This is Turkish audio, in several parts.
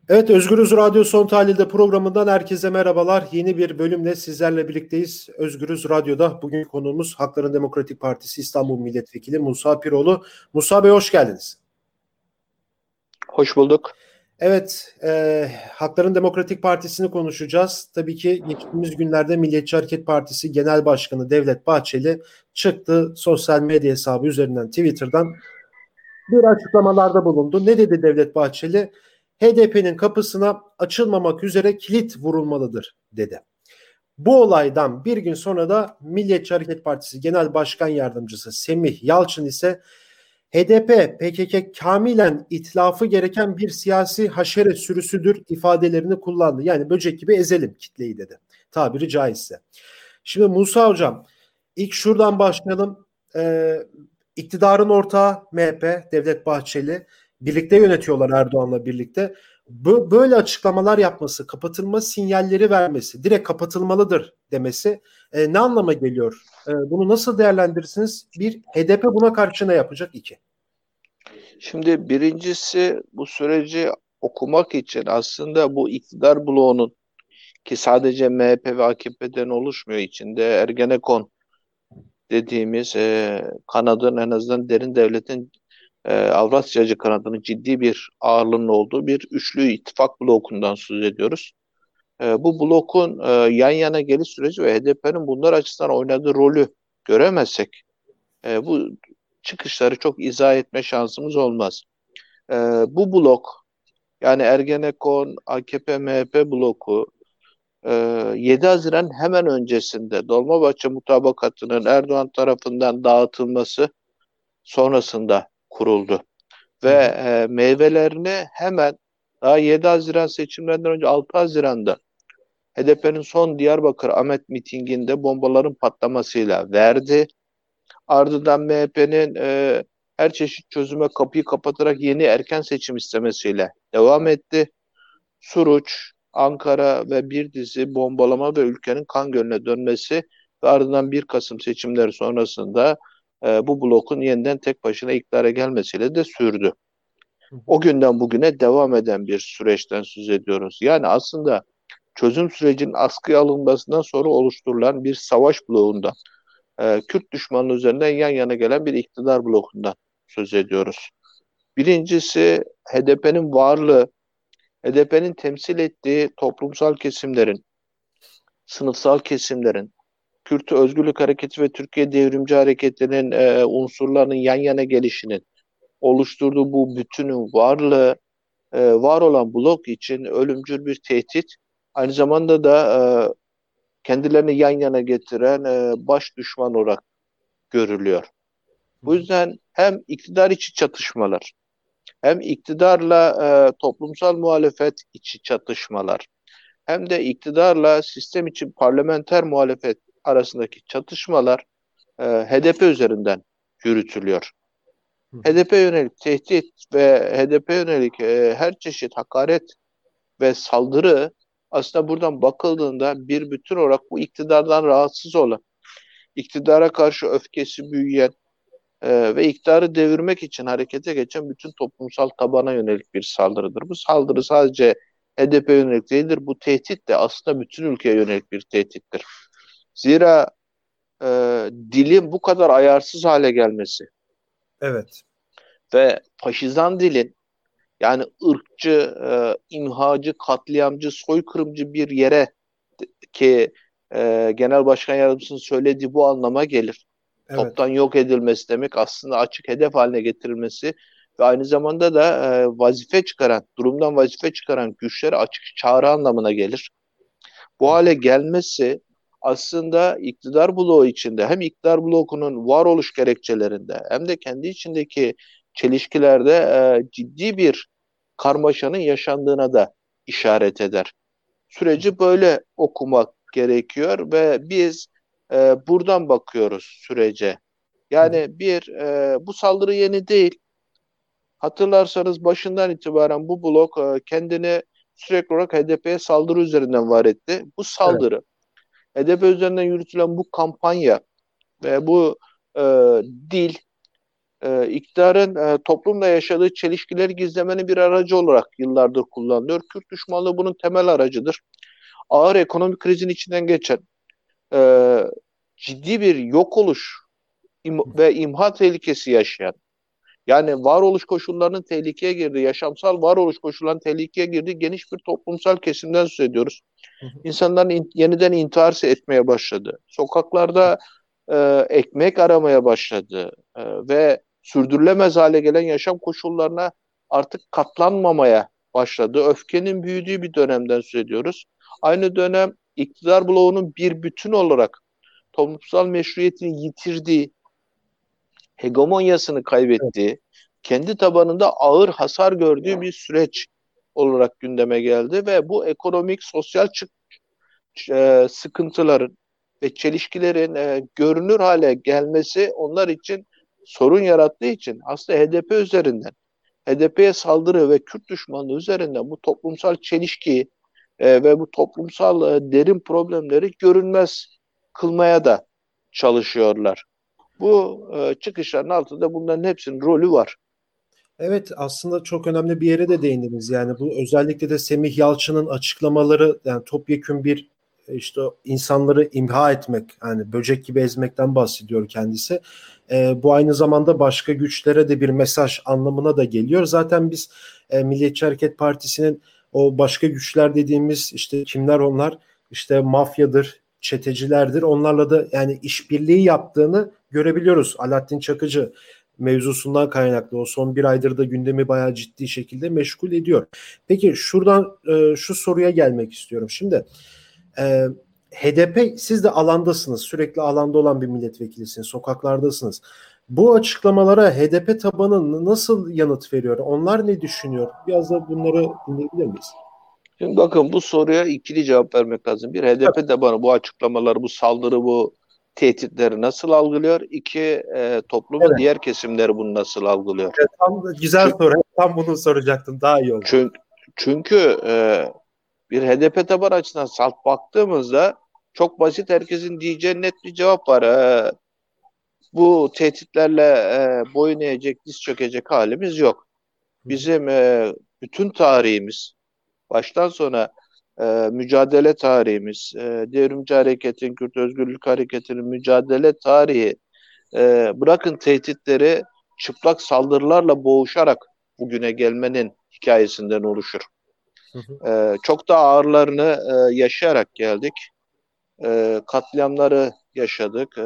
Evet, Özgürüz Radyo Son Tahlil'de programından herkese merhabalar. Yeni bir bölümle sizlerle birlikteyiz. Özgürüz Radyo'da bugün konuğumuz Halkların Demokratik Partisi İstanbul Milletvekili Musa Piroğlu. Musa Bey hoş geldiniz. Hoş bulduk. Evet, Halkların Demokratik Partisi'ni konuşacağız. Tabii ki geçtiğimiz günlerde Milliyetçi Hareket Partisi Genel Başkanı Devlet Bahçeli çıktı. Sosyal medya hesabı üzerinden Twitter'dan bir açıklamalarda bulundu. Ne dedi Devlet Bahçeli? HDP'nin kapısına açılmamak üzere kilit vurulmalıdır dedi. Bu olaydan bir gün sonra da Milliyetçi Hareket Partisi Genel Başkan Yardımcısı Semih Yalçın ise HDP, PKK kamilen itlafı gereken bir siyasi haşere sürüsüdür ifadelerini kullandı. Yani böcek gibi ezelim kitleyi dedi. Tabiri caizse. Şimdi Musa Hocam, ilk şuradan başlayalım. İktidarın ortağı MHP, Devlet Bahçeli. Birlikte yönetiyorlar Erdoğan'la birlikte. Böyle açıklamalar yapması, kapatılma sinyalleri vermesi, direkt kapatılmalıdır demesi ne anlama geliyor? Bunu nasıl değerlendirirsiniz? Bir, HDP buna karşı ne yapacak? İki. Şimdi birincisi bu süreci okumak için aslında bu iktidar bloğunun ki sadece MHP ve AKP'den oluşmuyor, içinde Ergenekon dediğimiz kanadın, en azından derin devletin Avrasyacı kanadının ciddi bir ağırlığının olduğu bir üçlü ittifak blokundan söz ediyoruz. Bu blokun yan yana geliş süreci ve HDP'nin bunlar açısından oynadığı rolü göremezsek bu çıkışları çok izah etme şansımız olmaz. E, Bu blok, yani Ergenekon, AKP, MHP bloku, e, 7 Haziran hemen öncesinde Dolmabahçe Mutabakatı'nın Erdoğan tarafından dağıtılması sonrasında kuruldu. Hı Ve hı. meyvelerini hemen daha 7 Haziran seçimlerinden önce 6 Haziran'da HDP'nin son Diyarbakır Ahmet mitinginde bombaların patlamasıyla verdi. Ardından MHP'nin her çeşit çözüme kapıyı kapatarak yeni erken seçim istemesiyle devam etti. Suruç, Ankara ve bir dizi bombalama ve ülkenin kan gölüne dönmesi ve ardından 1 Kasım seçimleri sonrasında bu blokun yeniden tek başına iktidara gelmesiyle de sürdü. Hı hı. O günden bugüne devam eden bir süreçten söz ediyoruz. Yani aslında çözüm sürecinin askıya alınmasından sonra oluşturulan bir savaş bloğunda Kürt düşmanlığı üzerinden yan yana gelen bir iktidar blokundan söz ediyoruz. Birincisi HDP'nin varlığı, HDP'nin temsil ettiği toplumsal kesimlerin, sınıfsal kesimlerin, Kürt Özgürlük Hareketi ve Türkiye Devrimci Hareketi'nin unsurlarının yan yana gelişinin oluşturduğu bu bütünün varlığı, var olan blok için ölümcül bir tehdit. Aynı zamanda da kendilerini yan yana getiren baş düşman olarak görülüyor. Hı Bu hı. yüzden hem iktidar içi çatışmalar, hem iktidarla toplumsal muhalefet içi çatışmalar, hem de iktidarla sistem içi parlamenter muhalefet arasındaki çatışmalar HDP üzerinden yürütülüyor. Hı hı. HDP yönelik tehdit ve HDP yönelik her çeşit hakaret ve saldırı aslında buradan bakıldığında bir bütün olarak bu iktidardan rahatsız olan, iktidara karşı öfkesi büyüyen, ve iktidarı devirmek için harekete geçen bütün toplumsal tabana yönelik bir saldırıdır. Bu saldırı sadece HDP yönelik değildir. Bu tehdit de aslında bütün ülkeye yönelik bir tehdittir. Zira e, dilin bu kadar ayarsız hale gelmesi Evet. ve faşizan dilin, yani ırkçı, imhacı, katliamcı, soykırımcı bir yere ki Genel Başkan Yardımcısının söylediği bu anlama gelir. Evet. Toptan yok edilmesi demek aslında açık hedef haline getirilmesi ve aynı zamanda da vazife çıkaran, durumdan vazife çıkaran güçlere açık çağrı anlamına gelir. Bu Hı hı. hale gelmesi aslında iktidar bloğu içinde, hem iktidar bloğunun varoluş gerekçelerinde hem de kendi içindeki çelişkilerde ciddi bir karmaşanın yaşandığına da işaret eder. Süreci böyle okumak gerekiyor ve biz buradan bakıyoruz sürece. Hı hı. Yani bu saldırı yeni değil. Hatırlarsanız başından itibaren bu blok kendini sürekli olarak HDP'ye saldırı üzerinden var etti. Bu Evet. saldırı, HDP üzerinden yürütülen bu kampanya ve bu e, dil iktidarın toplumla yaşadığı çelişkileri gizlemenin bir aracı olarak yıllardır kullanılıyor. Kürt düşmanlığı bunun temel aracıdır. Ağır ekonomik krizin içinden geçen, e, ciddi bir yok oluş ve imha tehlikesi yaşayan, yani varoluş koşullarının tehlikeye girdiği, yaşamsal varoluş koşullarının tehlikeye girdiği geniş bir toplumsal kesimden söz ediyoruz. İnsanların yeniden intihar etmeye başladı. Sokaklarda ekmek aramaya başladı ve sürdürülemez hale gelen yaşam koşullarına artık katlanmamaya başladı. Öfkenin büyüdüğü bir dönemden söz ediyoruz. Aynı dönem iktidar bloğunun bir bütün olarak toplumsal meşruiyetini yitirdiği, hegemonyasını Evet. kaybettiği, kendi tabanında ağır hasar gördüğü bir süreç olarak gündeme geldi ve bu ekonomik, sosyal sıkıntıların ve çelişkilerin görünür hale gelmesi onlar için sorun yarattığı için aslında HDP üzerinden, HDP'ye saldırı ve Kürt düşmanlığı üzerinden bu toplumsal çelişkiyi ve bu toplumsal derin problemleri görünmez kılmaya da çalışıyorlar. Bu çıkışların altında bunların hepsinin rolü var. Evet, aslında çok önemli bir yere de değindiniz. Yani bu özellikle de Semih Yalçın'ın açıklamaları, yani topyekün bir işte insanları imha etmek, yani böcek gibi ezmekten bahsediyor kendisi. Bu aynı zamanda başka güçlere de bir mesaj anlamına da geliyor. Zaten biz Milliyetçi Hareket Partisi'nin o başka güçler dediğimiz işte kimler onlar? İşte mafyadır, çetecilerdir. Onlarla da yani işbirliği yaptığını görebiliyoruz. Alaaddin Çakıcı mevzusundan kaynaklı o son bir aydır da gündemi bayağı ciddi şekilde meşgul ediyor. Peki şuradan şu soruya gelmek istiyorum. Şimdi e, HDP, siz de alandasınız. Sürekli alanda olan bir milletvekilisiniz. Sokaklardasınız. Bu açıklamalara HDP tabanı nasıl yanıt veriyor? Onlar ne düşünüyor? Biraz da bunları dinleyebilir miyiz? Şimdi bakın bu soruya ikili cevap vermek lazım. Bir, HDP de bana bu açıklamaları, bu saldırı, bu tehditleri nasıl algılıyor? İki, toplumun Evet. diğer kesimleri bunu nasıl algılıyor? Evet, tam güzel Çünkü, soru. Tam bunu soracaktım. Daha iyi oldu. çünkü bir HDP taban açısından salt baktığımızda çok basit, herkesin diyeceği net bir cevap var. Bu tehditlerle boyun eğecek, diz çökecek halimiz yok. Bizim bütün tarihimiz, baştan sona mücadele tarihimiz, Devrimci Hareket'in, Kürt Özgürlük Hareketi'nin mücadele tarihi, bırakın tehditleri, çıplak saldırılarla boğuşarak bugüne gelmenin hikayesinden oluşur. Çok da ağırlarını yaşayarak geldik. Katliamları yaşadık.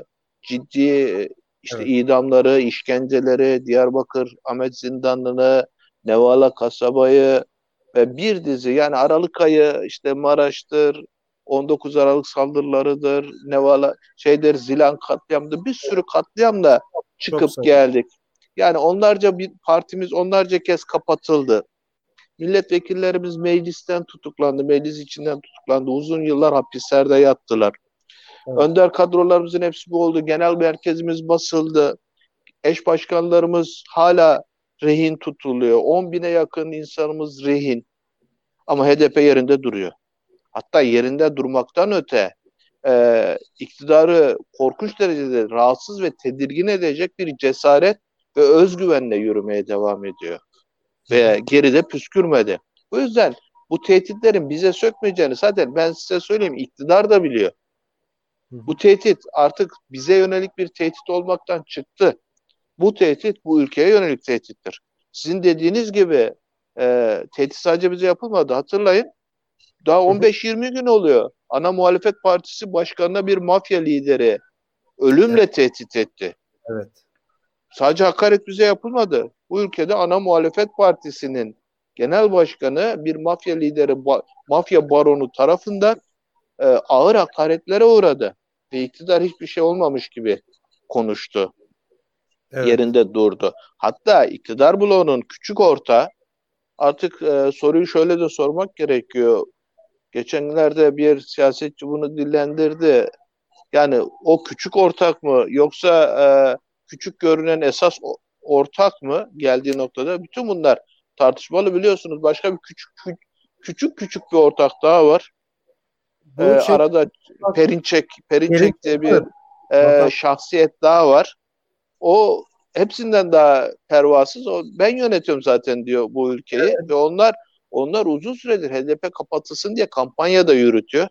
Ciddi işte Evet. idamları, işkenceleri, Diyarbakır Ahmet Zindanı'nı, Nevala Kasaba'yı ve bir dizi, yani Aralık ayı işte Maraş'tır, 19 Aralık saldırılarıdır, Nevala şeydir, Zilan katliamdı, bir sürü katliamla Çok çıkıp sağ olun. geldik. Yani onlarca bir partimiz onlarca kez kapatıldı. Milletvekillerimiz meclisten tutuklandı, meclis içinden tutuklandı. Uzun yıllar hapislerde yattılar. Evet. Önder kadrolarımızın hepsi bu oldu. Genel merkezimiz basıldı. Eş başkanlarımız hala rehin tutuluyor. 10 bine yakın insanımız rehin. Ama HDP yerinde duruyor. Hatta yerinde durmaktan öte iktidarı korkunç derecede rahatsız ve tedirgin edecek bir cesaret ve özgüvenle yürümeye devam ediyor. Hı hı. Ve geride püskürmedi. Bu yüzden bu tehditlerin bize sökmeyeceğini zaten ben size söyleyeyim, iktidar da biliyor. Hı hı. Bu tehdit artık bize yönelik bir tehdit olmaktan çıktı. Bu tehdit bu ülkeye yönelik tehdittir. Sizin dediğiniz gibi tehdit sadece bize yapılmadı. Hatırlayın, daha Hı hı. 15-20 gün oluyor. Ana muhalefet partisi başkanına bir mafya lideri Evet. ölümle tehdit etti. Evet. Sadece hakaret bize yapılmadı. Bu ülkede ana muhalefet partisinin genel başkanı bir mafya lideri, mafya baronu tarafından ağır hakaretlere uğradı. Ve iktidar hiçbir şey olmamış gibi konuştu. Evet. Yerinde durdu. Hatta iktidar bloğunun küçük orta, artık soruyu şöyle de sormak gerekiyor. Geçenlerde bir siyasetçi bunu dillendirdi. Yani o küçük ortak mı, yoksa küçük görünen esas ortak mı geldiği noktada, bütün bunlar tartışmalı, biliyorsunuz. Başka bir küçük bir ortak daha var. Bu şey, Arada bak, Perinçek geri diye bir evet, vatan. şahsiyet daha var. O hepsinden daha pervasız. Ben yönetiyorum zaten diyor bu ülkeyi ve onlar uzun süredir HDP kapatılsın diye kampanya da yürütüyor.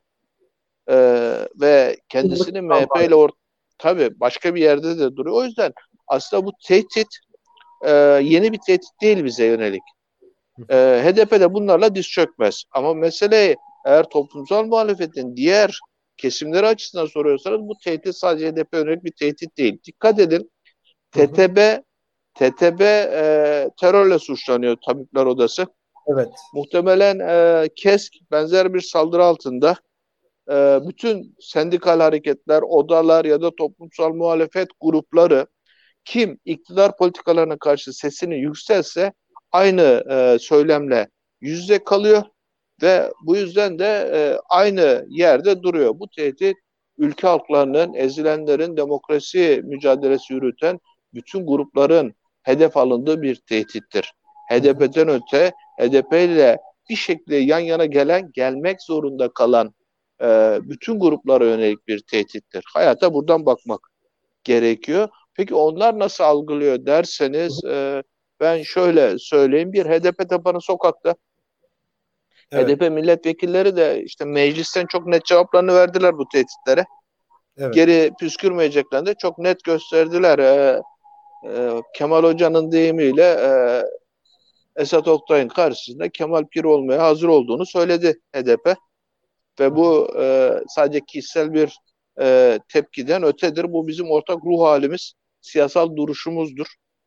Ve kendisini MHP ile tabii başka bir yerde de duruyor. O yüzden aslında bu tehdit yeni bir tehdit değil bize yönelik. HDP de bunlarla diz çökmez. Ama mesele eğer toplumsal muhalefetin diğer kesimleri açısından soruyorsanız bu tehdit sadece HDP yönelik bir tehdit değil. Dikkat edin, TTB terörle suçlanıyor Tabipler Odası. Evet. Muhtemelen KESK benzer bir saldırı altında. Bütün sendikal hareketler, odalar ya da toplumsal muhalefet grupları kim iktidar politikalarına karşı sesini yükselse aynı söylemle yüz yüze kalıyor ve bu yüzden de aynı yerde duruyor. Bu tehdit ülke halklarının, ezilenlerin demokrasi mücadelesi yürüten bütün grupların hedef alındığı bir tehdittir. HDP'den öte HDP ile bir şekilde yan yana gelmek zorunda kalan bütün gruplara yönelik bir tehdittir. Hayata buradan bakmak gerekiyor. Peki onlar nasıl algılıyor derseniz ben şöyle söyleyeyim. Bir HDP tabanı sokakta. Evet. HDP milletvekilleri de işte meclisten çok net cevaplarını verdiler bu tehditlere. Evet. Geri püskürmeyeceklerini de çok net gösterdiler. Kemal Hoca'nın deyimiyle Esat Oktay'ın karşısında Kemal Pir olmaya hazır olduğunu söyledi HDP. Ve bu sadece kişisel bir tepkiden ötedir. Bu bizim ortak ruh halimiz, siyasal duruşumuzdur.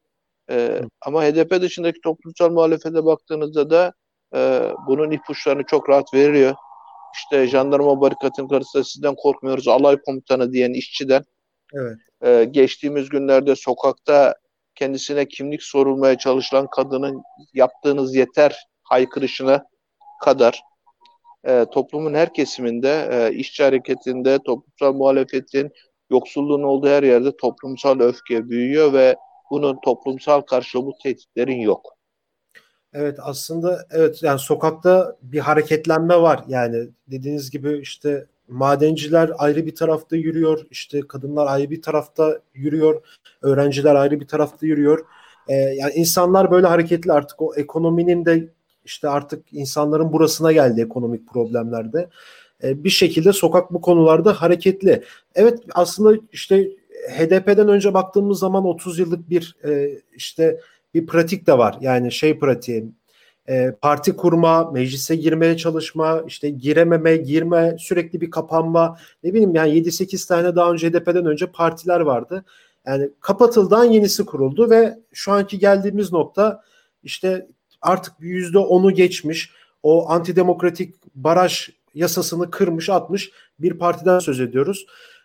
Ama HDP dışındaki toplumsal muhalefete baktığınızda da bunun ipuçlarını çok rahat veriyor. İşte jandarma barikatın karşısında sizden korkmuyoruz, alay komutanı diyen işçiden, Evet. geçtiğimiz günlerde sokakta kendisine kimlik sorulmaya çalışılan kadının yaptığınız yeter haykırışına kadar toplumun her kesiminde, işçi hareketinde, toplumsal muhalefetin, yoksulluğun olduğu her yerde toplumsal öfke büyüyor ve bunun toplumsal karşılığı bu tehditlerin yok. Evet, aslında evet, yani sokakta bir hareketlenme var. Yani dediğiniz gibi işte madenciler ayrı bir tarafta yürüyor, işte kadınlar ayrı bir tarafta yürüyor, öğrenciler ayrı bir tarafta yürüyor. Yani insanlar böyle hareketli, artık o ekonominin de işte artık insanların burasına geldi ekonomik problemlerde. Bir şekilde sokak bu konularda hareketli. Evet, aslında işte HDP'den önce baktığımız zaman 30 yıllık bir işte bir pratik de var. Yani şey pratiği, parti kurma, meclise girmeye çalışma, işte girememe, girme, sürekli bir kapanma. Ne bileyim, yani 7-8 tane daha önce HDP'den önce partiler vardı. Yani kapatıldan yenisi kuruldu ve şu anki geldiğimiz nokta işte artık %10'u geçmiş, o antidemokratik baraj yasasını kırmış atmış bir partiden söz ediyoruz.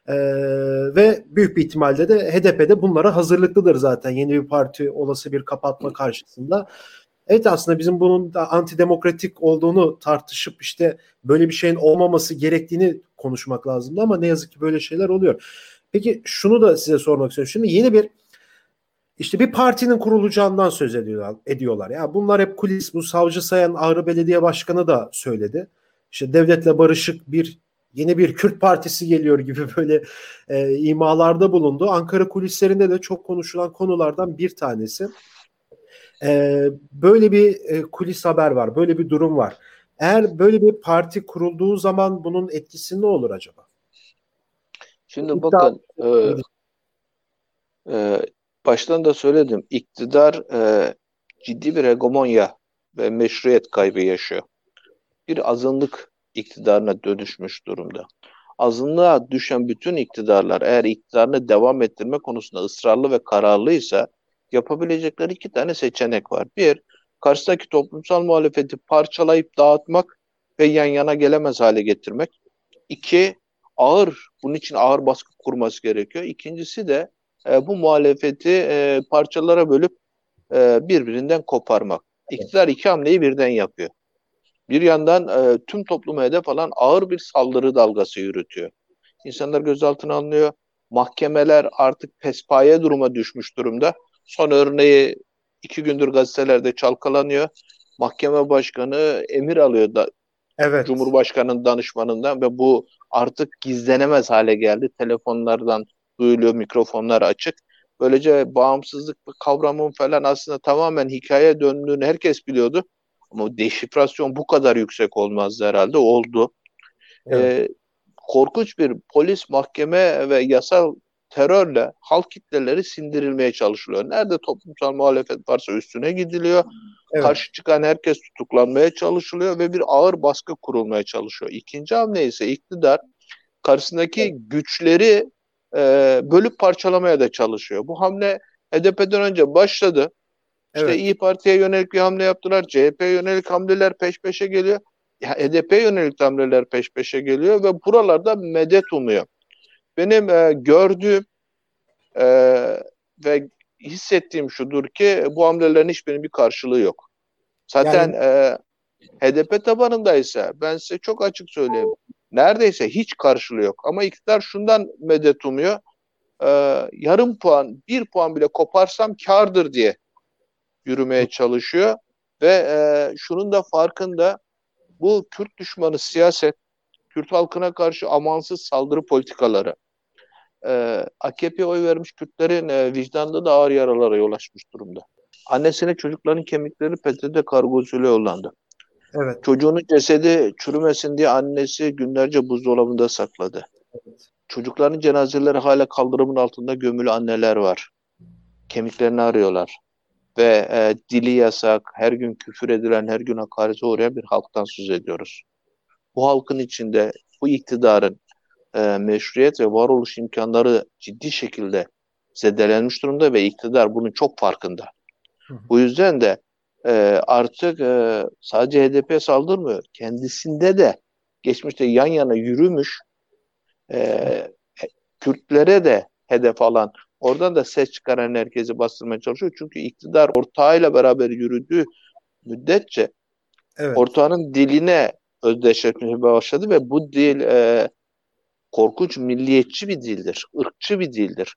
Ve büyük bir ihtimalle de HDP'de bunlara hazırlıklıdır zaten, yeni bir parti olası bir kapatma karşısında. Evet, aslında bizim bunun da antidemokratik olduğunu tartışıp işte böyle bir şeyin olmaması gerektiğini konuşmak lazımdı ama ne yazık ki böyle şeyler oluyor. Peki şunu da size sormak istiyorum. Şimdi yeni bir işte bir partinin kurulacağından söz ediyorlar. Ya bunlar hep kulis. Bu Savcı Sayan Ağrı Belediye Başkanı da söyledi. İşte devletle barışık bir yeni bir Kürt partisi geliyor gibi böyle imalarda bulundu. Ankara kulislerinde de çok konuşulan konulardan bir tanesi. Böyle bir kulis haber var. Böyle bir durum var. Eğer böyle bir parti kurulduğu zaman bunun etkisi ne olur acaba? Şimdi İddia bakın e, baştan da söyledim iktidar ciddi bir hegemonya ve meşruiyet kaybı yaşıyor. Bir azınlık iktidarına dönüşmüş durumda. Azınlığa düşen bütün iktidarlar eğer iktidarını devam ettirme konusunda ısrarlı ve kararlıysa yapabilecekleri iki tane seçenek var. Bir, karşıdaki toplumsal muhalefeti parçalayıp dağıtmak ve yan yana gelemez hale getirmek. İki, bunun için ağır baskı kurması gerekiyor. İkincisi de bu muhalefeti parçalara bölüp birbirinden koparmak. İktidar iki hamleyi birden yapıyor. Bir yandan tüm topluma hedef alan ağır bir saldırı dalgası yürütüyor. İnsanlar gözaltına alınıyor. Mahkemeler artık pespaye duruma düşmüş durumda. Son örneği 2 gündür gazetelerde çalkalanıyor. Mahkeme başkanı emir alıyor da Evet. Cumhurbaşkanı'nın danışmanından ve bu artık gizlenemez hale geldi. Telefonlardan duyuluyor, mikrofonlar açık. Böylece bağımsızlık kavramının falan aslında tamamen hikaye döndüğünü herkes biliyordu. Ama deşifrasyon bu kadar yüksek olmazdı herhalde. Oldu. Evet. Korkunç bir polis, mahkeme ve yasal terörle halk kitleleri sindirilmeye çalışılıyor. Nerede toplumsal muhalefet varsa üstüne gidiliyor. Evet. Karşı çıkan herkes tutuklanmaya çalışılıyor ve bir ağır baskı kurulmaya çalışıyor. İkinci hamle ise iktidar karşısındaki güçleri bölüp parçalamaya da çalışıyor. Bu hamle HDP'den önce başladı. İşte Evet. İyi Parti'ye yönelik bir hamle yaptılar. CHP'ye yönelik hamleler peş peşe geliyor. Ya, HDP'ye yönelik hamleler peş peşe geliyor ve buralarda medet umuyor. Benim gördüğüm e, ve hissettiğim şudur ki bu hamlelerin hiçbirinin bir karşılığı yok. Zaten Yani HDP tabanındaysa ben size çok açık söyleyeyim. Neredeyse hiç karşılığı yok. Ama iktidar şundan medet umuyor. E, Yarım puan, bir puan bile koparsam kârdır diye yürümeye çalışıyor. Ve şunun da farkında, bu Kürt düşmanı siyaset, Kürt halkına karşı amansız saldırı politikaları, AKP'ye oy vermiş Kürtlerin vicdanında da ağır yaralara yol açmış durumda. Annesine çocukların kemikleri PTT kargosuyla yollandı. evet. Çocuğunun cesedi çürümesin diye annesi günlerce buzdolabında sakladı. Evet. Çocukların cenazeleri hala kaldırımın altında gömülü anneler var. Kemiklerini arıyorlar. Ve dili yasak, her gün küfür edilen, her gün hakarete uğrayan bir halktan söz ediyoruz. Bu halkın içinde bu iktidarın meşruiyet ve varoluş imkanları ciddi şekilde zedelenmiş durumda ve iktidar bunun çok farkında. Hı hı. Bu yüzden de e, artık sadece HDP'ye saldırmıyor. Kendisinde de geçmişte yan yana yürümüş e, Kürtlere de hedef alan, oradan da ses çıkaran herkesi bastırmaya çalışıyor. Çünkü iktidar ortağıyla beraber yürüdüğü müddetçe Evet. ortağının diline özdeşleşmeye başladı ve bu dil korkunç milliyetçi bir dildir, ırkçı bir dildir.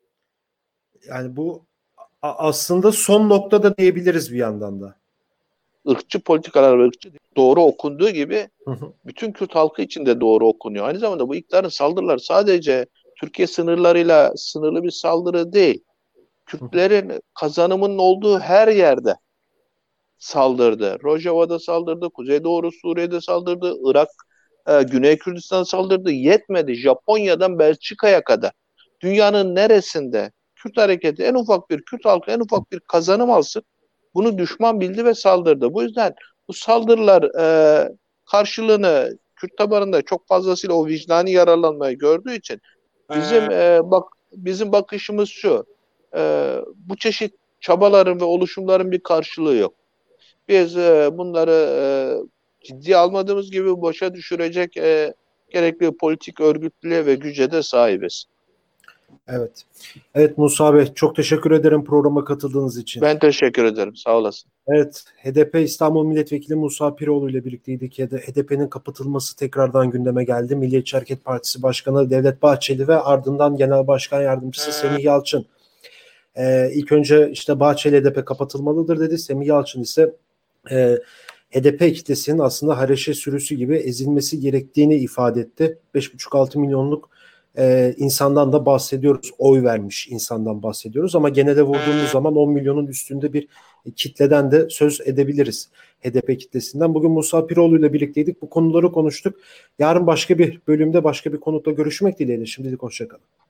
Yani bu aslında son noktada diyebiliriz bir yandan da. Irkçı politikalar ve ırkçı dil doğru okunduğu gibi Hı hı. bütün Kürt halkı için de doğru okunuyor. Aynı zamanda bu iktidarın saldırıları sadece Türkiye sınırlarıyla sınırlı bir saldırı değil. Hı hı. Kürtlerin kazanımının olduğu her yerde saldırdı. Rojava'da saldırdı, Kuzeydoğu Suriye'de saldırdı, Irak, Güney Kürdistan saldırdı. Yetmedi. Japonya'dan Belçika'ya kadar. Dünyanın neresinde Kürt hareketi en ufak bir, Kürt halkı en ufak bir kazanım alsın, bunu düşman bildi ve saldırdı. Bu yüzden bu saldırılar karşılığını Kürt tabanında çok fazlasıyla o vicdani yaralanmayı gördüğü için bizim bakışımız şu. Bu çeşit çabaların ve oluşumların bir karşılığı yok. Biz bunları ciddiye almadığımız gibi boşa düşürecek gerekli politik örgütlüğe ve güce de sahibiz. Evet. Evet Musa Bey, çok teşekkür ederim programa katıldığınız için. Ben teşekkür ederim. Sağ olasın. Evet, HDP İstanbul Milletvekili Musa Piroğlu ile birlikteydik. HDP'nin kapatılması tekrardan gündeme geldi. Milliyetçi Hareket Partisi Başkanı Devlet Bahçeli ve ardından Genel Başkan Yardımcısı Semih Yalçın. İlk önce işte Bahçeli HDP kapatılmalıdır dedi. Semih Yalçın ise HDP kitlesinin aslında Hareşe sürüsü gibi ezilmesi gerektiğini ifade etti. 5,5-6 milyonluk insandan da bahsediyoruz. Oy vermiş insandan bahsediyoruz ama genelde vurduğumuz zaman 10 milyonun üstünde bir kitleden de söz edebiliriz. HDP kitlesinden. Bugün Musa Piroğlu ile birlikteydik. Bu konuları konuştuk. Yarın başka bir bölümde başka bir konukla görüşmek dileğiyle. Şimdilik hoşçakalın.